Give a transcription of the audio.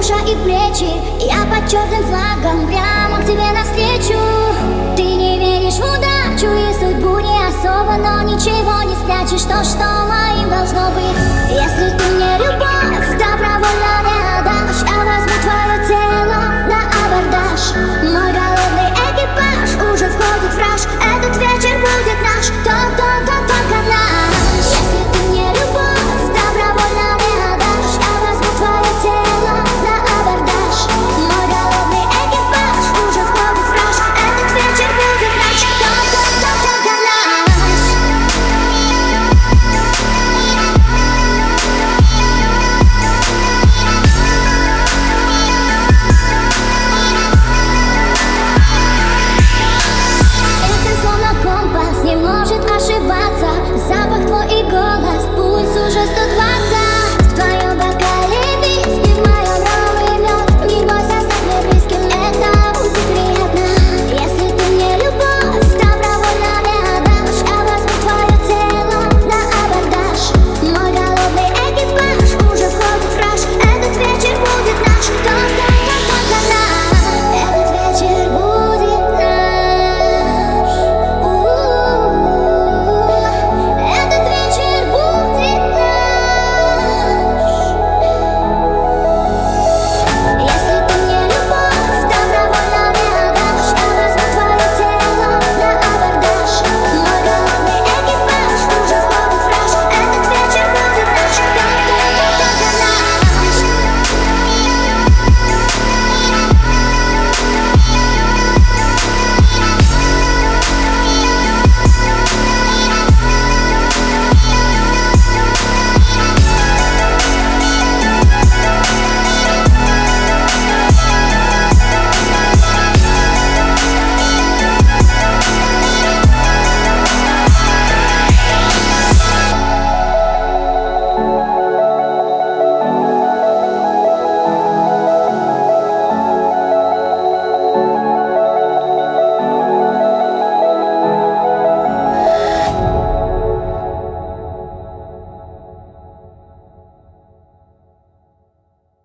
душа и плечи. Я под черным флагом прямо к тебе навстречу. Ты не веришь в удачу и судьбу не особо, но ничего не спрячешь. То, что моим должно быть. Если ты